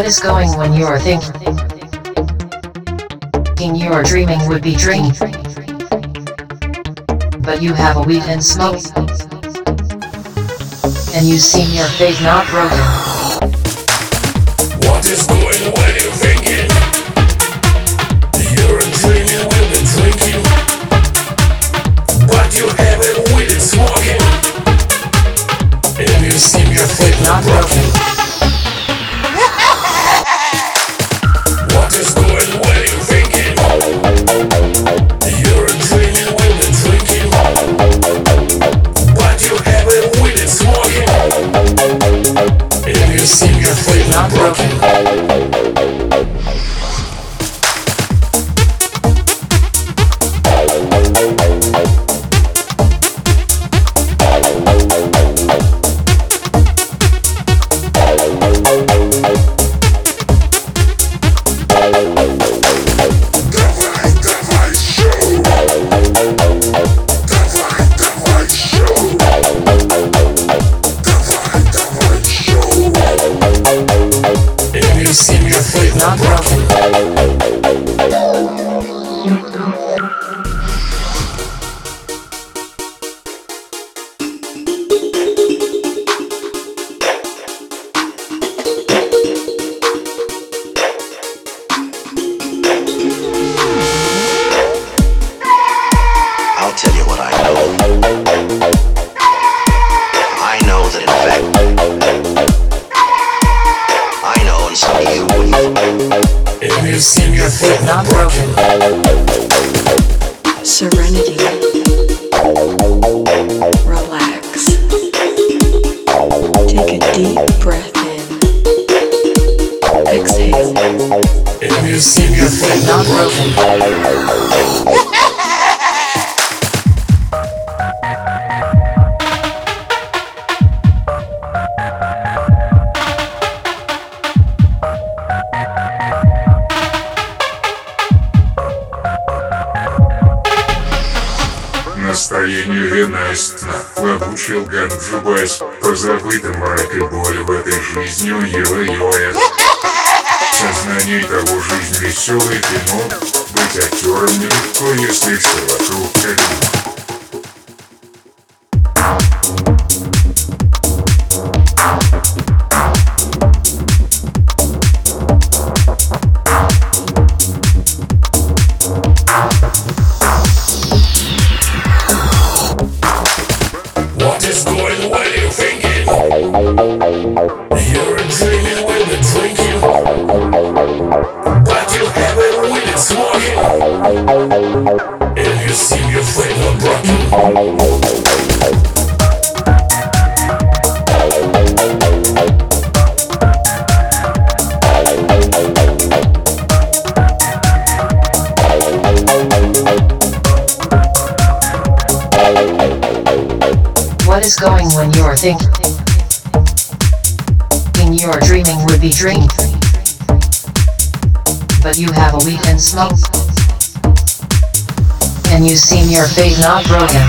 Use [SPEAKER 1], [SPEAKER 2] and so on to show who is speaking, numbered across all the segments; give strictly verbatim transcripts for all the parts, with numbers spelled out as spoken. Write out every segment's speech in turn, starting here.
[SPEAKER 1] is going when you're thinking you're dreaming would be dream, but you have a weed and smoke, and you seem your faith not broken.
[SPEAKER 2] What is going when you're thinking you're dreaming will be drinking, but you have a weed and smoking, and you seem your faith not broken. What is going when you're thinking you're dreaming will be drinking, but you have a weed and smoking, and you seem your faith not broken. You seem your faith not broken.
[SPEAKER 3] I'll tell you what I know. I know that in fact I know, and some of you wouldn't.
[SPEAKER 2] And you seem your faith not broken.
[SPEAKER 4] Serenity. Relax. Take a deep breath in. Exhale.
[SPEAKER 2] And you seem your faith not broken.
[SPEAKER 5] Настроение винастно, обучил Ганджубас, позабытым мрак и боль в этой жизни ой-ой-ой. Сознание того, жизнь веселое кино, быть актером нелегко, если все вокруг калина.
[SPEAKER 2] What is going when you're thinking you're dreaming will be drinking, but you have a weed and smoking, and you seem your faith not broken.
[SPEAKER 1] What is going when you're thinking you're dreaming would be dream, but you have a weed and smoke, and you seem your faith not broken.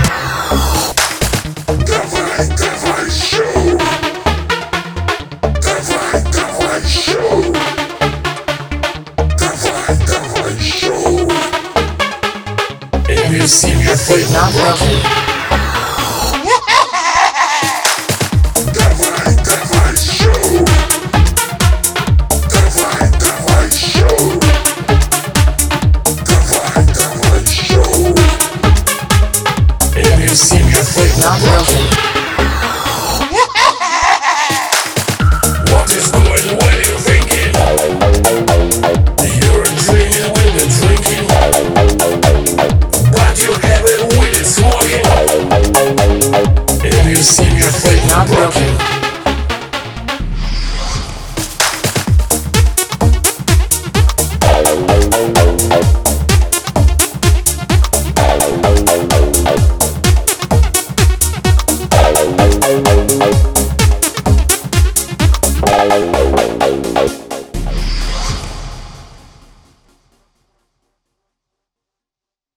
[SPEAKER 2] Давай, давай, шоу. Давай, давай, шоу. Давай, давай, шоу. And you seem your faith not broken.